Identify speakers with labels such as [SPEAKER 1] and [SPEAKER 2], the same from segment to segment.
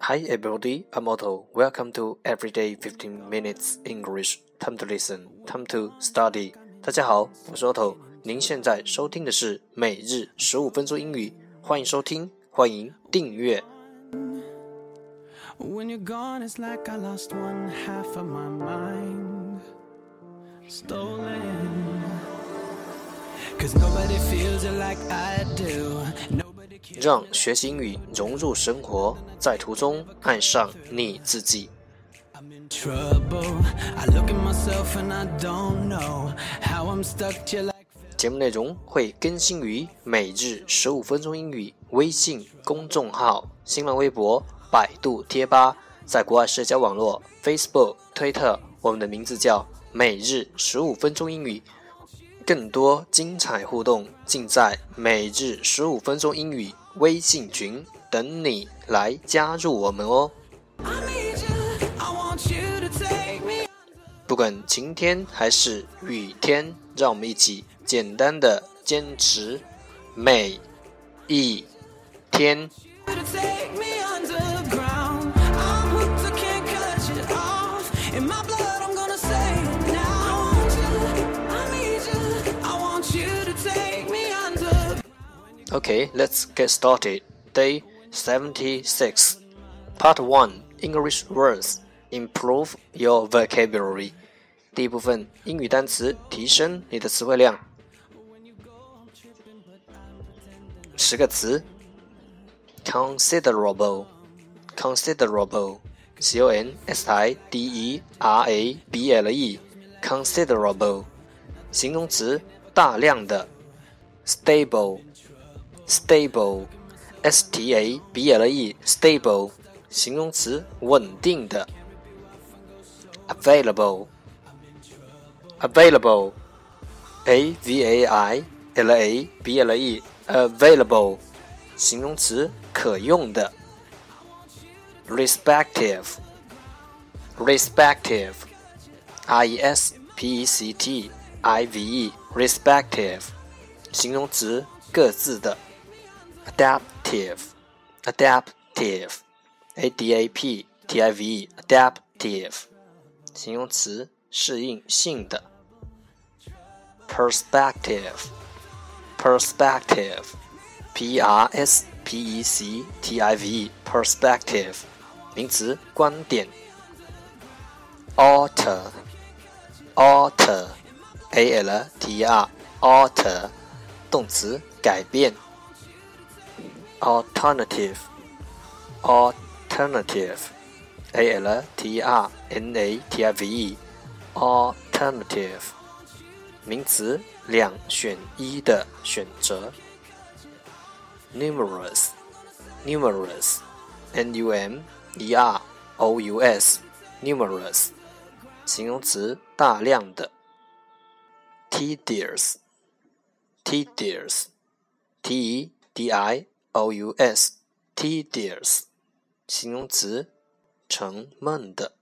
[SPEAKER 1] Hi everybody, I'm Otto. Welcome to Everyday 15 Minutes English. Time to listen, time to study. 大家好，我是 Otto。您现在收听的是每日15分钟英语，欢迎收听，欢迎订阅。
[SPEAKER 2] When you're gone, it's like I lost one half of my mind. Stolen. 'Cause nobody feels it like I do.
[SPEAKER 1] 让学习英语融入生活，在途中爱上你自己。
[SPEAKER 2] I'm in trouble. I look at myself and I don't know how I'm stuck till like.
[SPEAKER 1] 节目内容会更新于每日15分钟英语微信公众号、新浪微博、百度贴吧，在国外社交网络 Facebook、推特，我们的名字叫每日15分钟英语。更多精彩互动尽在每日15分钟英语微信群，等你来加入我们哦。不管晴天还是雨天，让我们一起简单的坚持每一天。Okay, let's get started. Day 76. Part 1. English words. Improve your vocabulary. 第一部分英语单词，提升你的词汇量。10个词 Considerable Considerable C-O-N-S-I-D-E-R-A-B-L-E Considerable 形容词，大量的。Stable Stable S-T-A-B-L-E Stable 形容词，稳定的。Available Available A-V-A-I-L-A-B-L-E Available 形容词，可用的。Respective Respective R-E-S-P-E-C-T-I-V-E Respective 形容词，各自的。Adaptive Adaptive A-D-A-P-T-I-V-E Adaptive 形容词，适应性的。Perspective Perspective P-R-S-P-E-C-T-I-V-E Perspective 名词，观点。Alter Alter A-L-T-R Alter 动词，改变。Alternative Alternative A-L-T-R-N-A-T-I-V-E Alternative 名词，两选一的选择。Numerous Numerous N-U-M-E-R-O-U-S Numerous 形容词，大量的。Tedious Tedious T-E-D-I-O-U-S Tedious 形容词，沉闷的。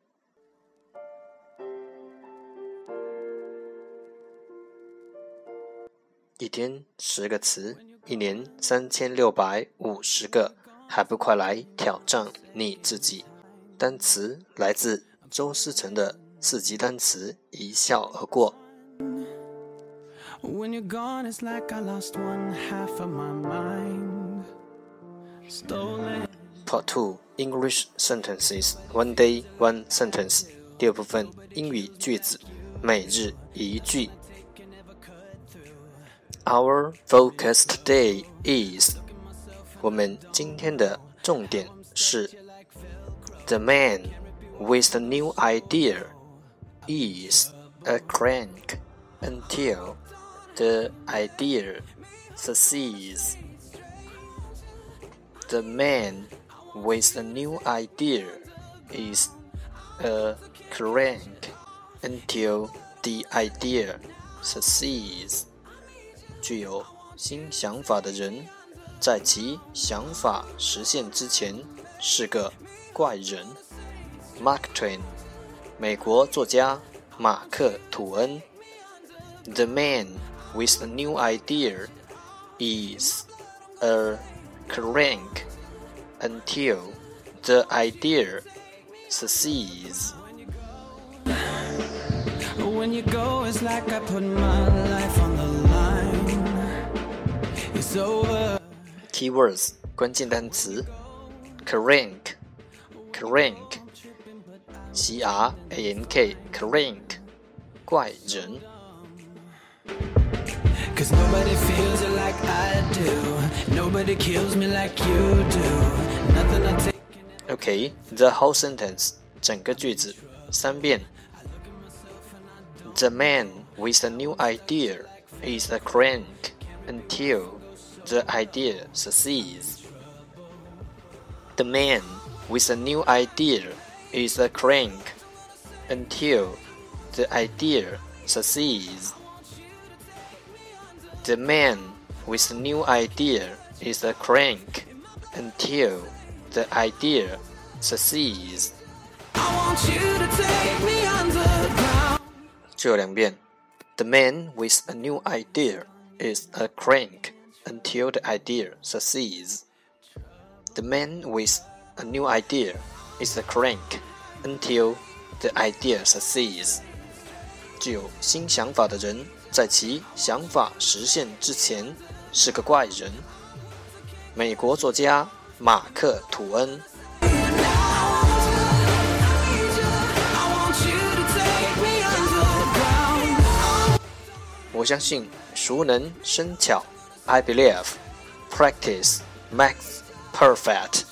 [SPEAKER 1] 一天10个词，一年3650个，还不快来挑战你自己。单词来自周思成的4级单词，一笑而过。
[SPEAKER 2] When you're gone, it's like I lost one half of my mind. Stolen.
[SPEAKER 1] Part 2 English sentences. One day, one sentence. 第二部分英语句子，每日一句。Our focus today is 我们今天的重点是 The man with the new idea is a crank until the idea succeeds. The man with the new idea is a crank until the idea succeeds. 具有新想法的人，在其想法实现之前是个怪人。Mark Twain 美国作家马克·吐恩。The man with a new idea is a crank until the idea succeeds.
[SPEAKER 2] When you go, it's like I put my life on the line. It's over.
[SPEAKER 1] Keywords 关键单词 crank crank C-R-A-N-K crank 怪人
[SPEAKER 2] Cause nobody feels it like I do. Nobody kills me like you do. Nothing I take.
[SPEAKER 1] Okay, the whole sentence 整个句子3遍 The man with a new idea is a crank until the idea succeeds. The man with a new idea is a crank until the idea succeeds. The man with a new idea is a crank until the idea succeeds.
[SPEAKER 2] I want you to take me underground.
[SPEAKER 1] 最后2遍 The man with a new idea is a crank until the idea succeeds. The man with a new idea is a crank until the idea succeeds. 具有新想法的人在其想法实现之前是个怪人。美国作家马克·吐恩。我相信熟能生巧 I believe practice makes perfect.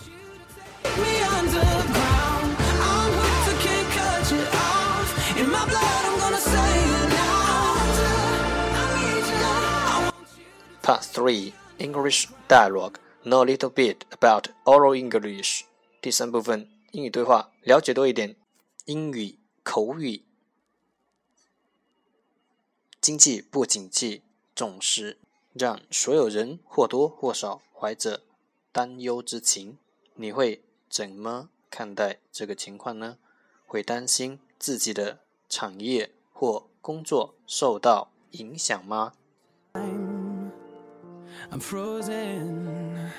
[SPEAKER 1] Part 3 English dialogue. Know a little bit about oral English. 第3部分英语对话，了解多一点英语口语。经济不景气总是让所有人或多或少怀着担忧之情。你会怎么看待这个情况呢？会担心自己的产业或工作受到影响吗？
[SPEAKER 2] I'm frozen.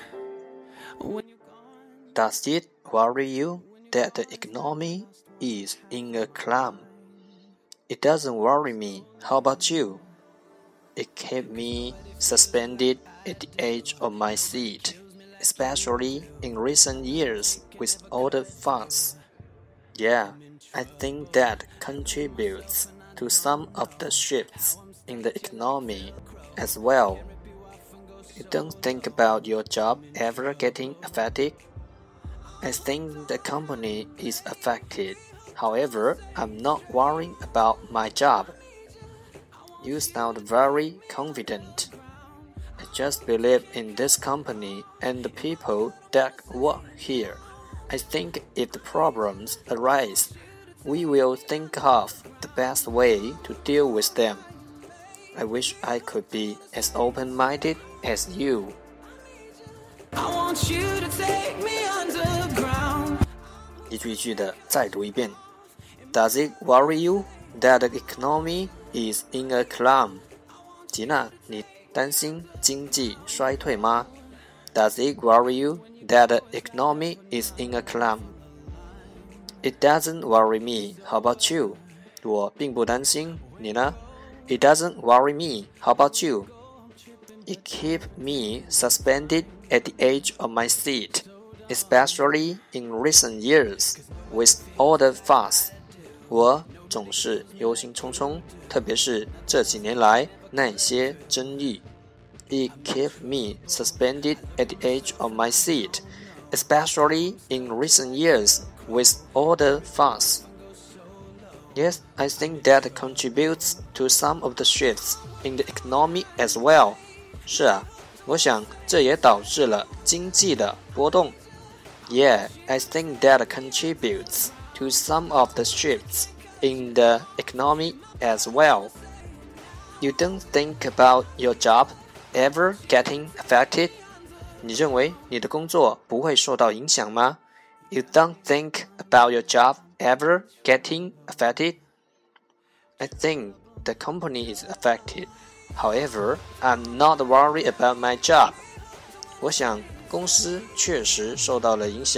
[SPEAKER 1] Does it worry you that the economy is in a slump? It doesn't worry me. How about you? It kept me suspended at the edge of my seat, especially in recent years with all the fuss. Yeah, I think that contributes to some of the shifts in the economy as well. You don't think about your job ever getting affected? I think the company is affected. However, I'm not worrying about my job. You sound very confident. I just believe in this company and the people that work here. I think if the problems arise, we will think of the best way to deal with them. I wish I could be as open-minded as you.
[SPEAKER 2] I want you to take me underground.
[SPEAKER 1] 一句一句的再读一遍。Does it worry you that the economy is in a slump? 吉娜，你担心经济衰退吗？ Does it worry you that the economy is in a slump? It doesn't worry me. How about you? 我并不担心，你呢？ It doesn't worry me. How about you? It keeps me suspended at the edge of my seat, especially in recent years, with all the fuss. 我总是忧心忡忡，特别是这几年来那些争议。It kept me suspended at the edge of my seat, especially in recent years, with all the fuss. Yes, I think that contributes to some of the shifts in the economy as well. 是啊，我想这也导致了经济的波动。Yeah, I think that contributes to some of the shifts in the economy as well. You don't think about your job ever getting affected? 你认为你的工作不会受到影响吗？ You don't think about your job ever getting affected? I think the company is affected. However, I'm not worried about my job. 我想公司确实受到了影响，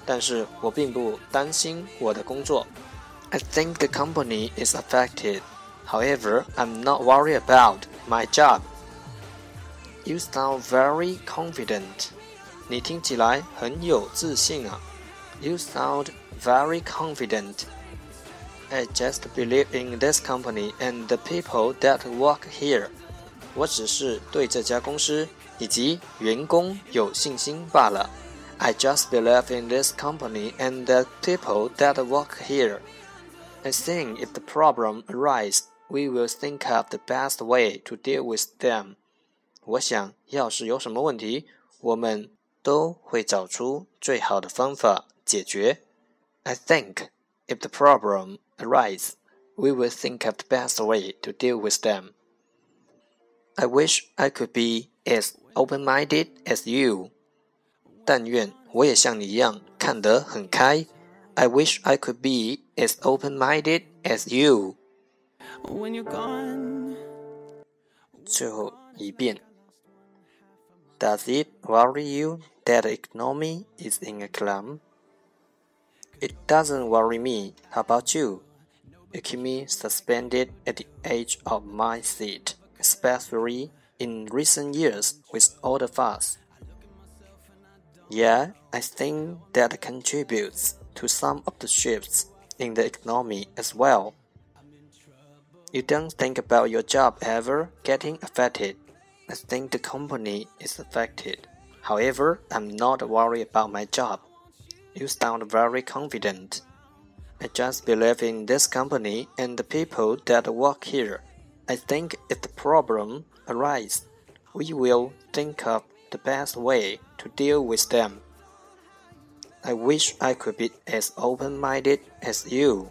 [SPEAKER 1] 但是我并不担心我的工作。I think the company is affected. However, I'm not worried about my job. You sound very confident. 你听起来很有自信啊。You sound very confident. I just believe in this company and the people that work here. 我只是对这家公司以及员工有信心罢了。I just believe in this company and the people that work here. I think if the problem arises, we will think of the best way to deal with them. 我想，要是有什么问题，我们都会找出最好的方法解决。I think if the problem arises, we will think of the best way to deal with them. I wish I could be as open-minded as you. 但愿我也像你一样看得很开。I wish I could be as open-minded as you.
[SPEAKER 2] When you're gone.
[SPEAKER 1] 最后一遍。Does it worry you that the economy is in a slump? It doesn't worry me. How about you? You keep me suspended at the edge of my seat, especially in recent years with all the fuss. Yeah, I think that contributes to some of the shifts in the economy as well. You don't think about your job ever getting affected. I think the company is affected. However, I'm not worried about my job. You sound very confident. I just believe in this company and the people that work here. I think if the problem arises, we will think of the best way to deal with them. I wish I could be as open-minded as you.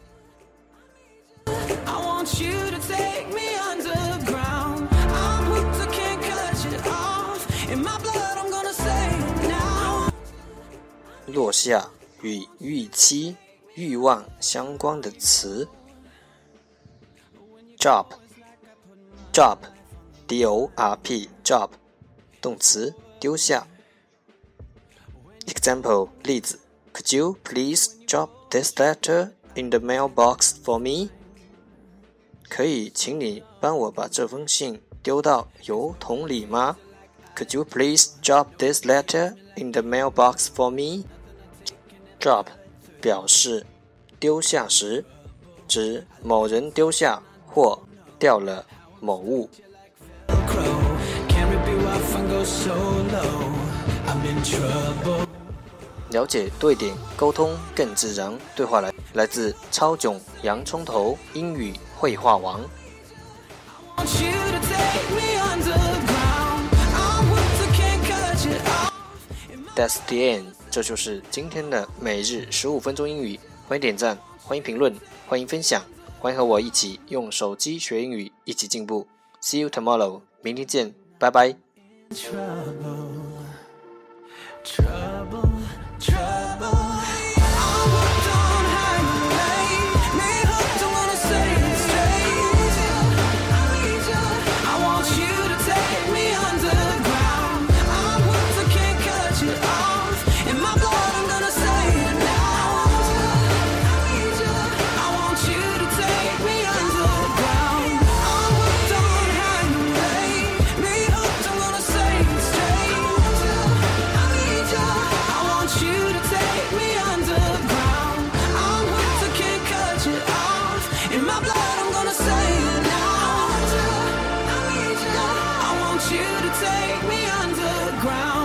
[SPEAKER 2] I want you to take me underground. I'm hooked, I can't cut you off. In my blood, I'm gonna say it now.
[SPEAKER 1] 落下与预期、欲望相关的词。Drop, drop, D-O-R-P, drop, 动词丢下。Example 例子 Could you please drop this letter in the mailbox for me? 可以请你帮我把这封信丢到邮筒里吗？ Could you please drop this letter in the mailbox for me? Drop 表示丢下时，指某人丢下或掉了某物。了解对点沟通更自然，对话来自超囧洋葱头英语绘画王。That's the end， 这就是今天的每日15分钟英语。欢迎点赞，欢迎评论，欢迎分享，欢迎和我一起用手机学英语，一起进步。See you tomorrow， 明天见，拜拜。
[SPEAKER 2] You to take me underground.